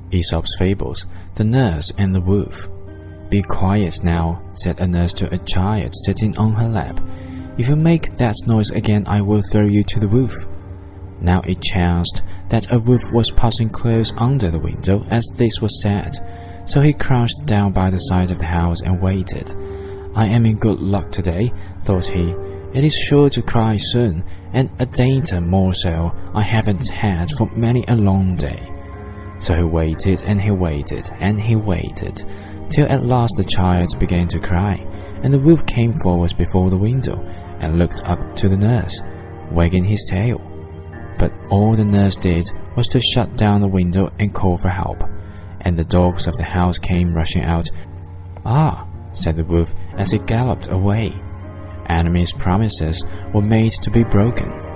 Aesop's Fables, The Nurse and the Wolf. "Be quiet now," said a nurse to a child sitting on her lap. "If you make that noise again, I will throw you to the wolf." Now it chanced that a wolf was passing close under the window as this was said, so he crouched down by the side of the house and waited. "I am in good luck today," thought he. "It is sure to cry soon, and a dainty morsel I haven't had for many a long day." So he waited and he waited and he waited, till at last the child began to cry, and the wolf came forward before the window and looked up to the nurse, wagging his tail. But all the nurse did was to shut down the window and call for help, and the dogs of the house came rushing out. "Ah," said the wolf as he galloped away, "enemies' promises were made to be broken."